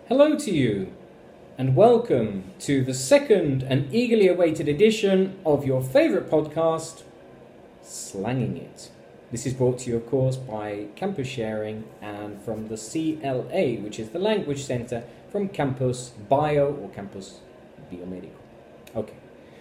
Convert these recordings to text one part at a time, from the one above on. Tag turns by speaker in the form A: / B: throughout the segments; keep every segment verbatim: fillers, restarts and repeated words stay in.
A: Hello to you, and welcome to the second and eagerly awaited edition of your favourite podcast, Slanging It. This is brought to you, of course, by Campus Sharing and from the C L A, which is the Language Centre from Campus Bio or Campus Biomedical. Okay.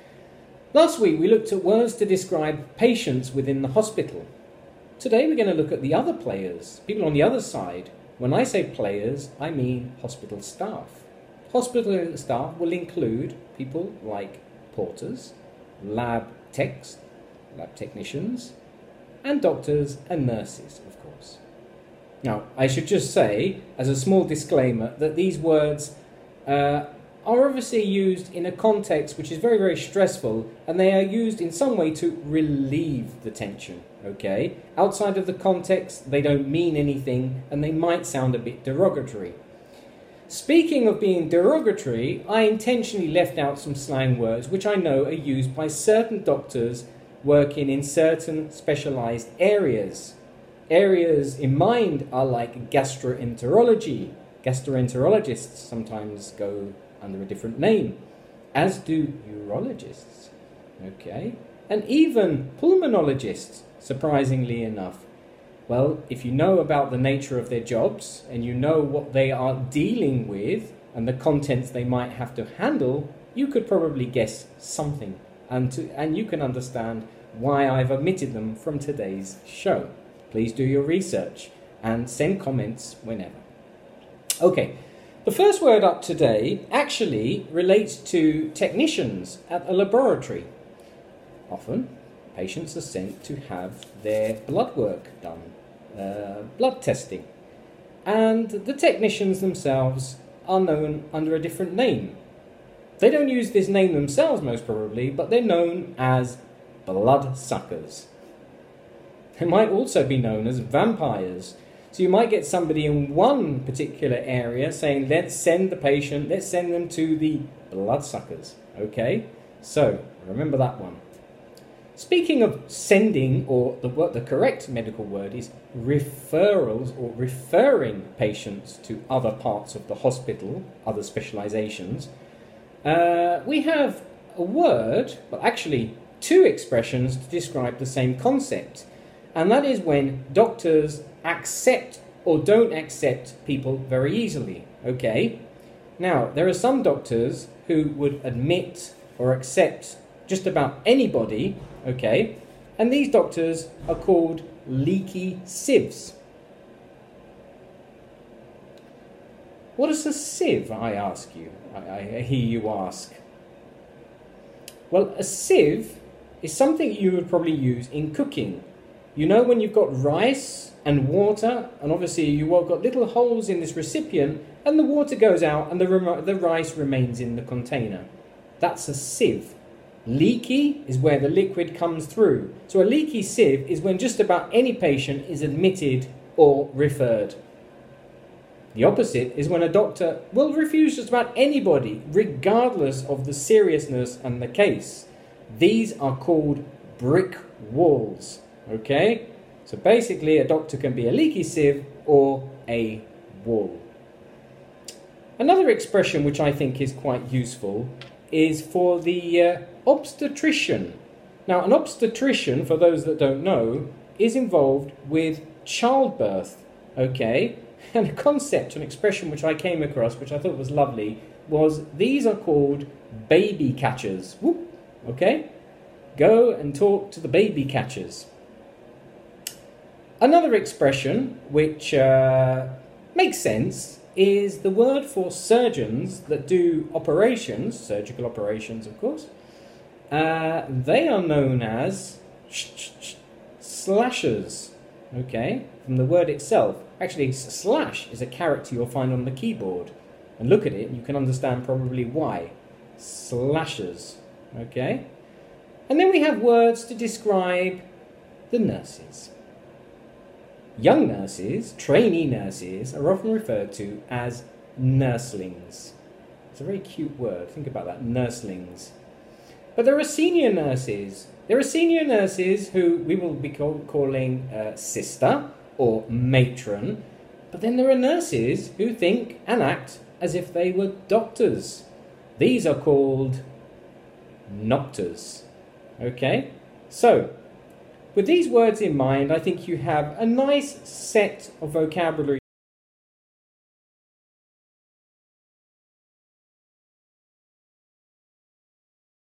A: Last week we looked at words to describe patients within the hospital. Today we're going to look at the other players, people on the other side. When I say players, I mean hospital staff. Hospital staff will include people like porters, lab techs, lab technicians, and doctors and nurses, of course. Now, I should just say, as a small disclaimer, that these words uh, are obviously used in a context which is very, very stressful, and they are used in some way to relieve the tension, okay? Outside of the context, they don't mean anything, and they might sound a bit derogatory. Speaking of being derogatory, I intentionally left out some slang words which I know are used by certain doctors working in certain specialised areas. Areas in mind are like gastroenterology. Gastroenterologists sometimes go under a different name, as do urologists, okay? And even pulmonologists, surprisingly enough. Well, if you know about the nature of their jobs and you know what they are dealing with and the contents they might have to handle, you could probably guess something, and, to, and you can understand why I've omitted them from today's show. Please do your research and send comments whenever. Okay. The first word up today actually relates to technicians at a laboratory. Often, patients are sent to have their blood work done, uh, blood testing. And the technicians themselves are known under a different name. They don't use this name themselves, most probably, but they're known as blood suckers. They might also be known as vampires. So you might get somebody in one particular area saying, let's send the patient, let's send them to the bloodsuckers. Okay? So, remember that one. Speaking of sending, or the, what the correct medical word is, referrals or referring patients to other parts of the hospital, other specializations, uh, we have a word, well actually two expressions to describe the same concept. And that is when doctors accept or don't accept people very easily, okay? Now, there are some doctors who would admit or accept just about anybody, okay? And these doctors are called leaky sieves. What is a sieve, I ask you? I, I hear you ask. Well, a sieve is something you would probably use in cooking. You know when you've got rice and water, and obviously you've got little holes in this recipient, and the water goes out and the, rem- the rice remains in the container. That's a sieve. Leaky is where the liquid comes through. So a leaky sieve is when just about any patient is admitted or referred. The opposite is when a doctor will refuse just about anybody, regardless of the seriousness and the case. These are called brick walls. Okay, so basically a doctor can be a leaky sieve or a wall. Another expression which I think is quite useful is for the uh, obstetrician. Now, an obstetrician, for those that don't know, is involved with childbirth, okay? And a concept, an expression which I came across, which I thought was lovely, was these are called baby catchers. Whoop, okay? Go and talk to the baby catchers. Another expression which uh, makes sense is the word for surgeons that do operations, surgical operations of course. Uh, they are known as slashers, okay, from the word itself. Actually, slash is a character you'll find on the keyboard. And look at it and you can understand probably why. Slashers, okay. And then we have words to describe the nurses. Young nurses, trainee nurses, are often referred to as nurslings. It's a very cute word. Think about that, nurslings. But there are senior nurses. There are senior nurses who we will be call, calling uh, sister or matron. But then there are nurses who think and act as if they were doctors. These are called noctors. Okay? So, with these words in mind, I think you have a nice set of vocabulary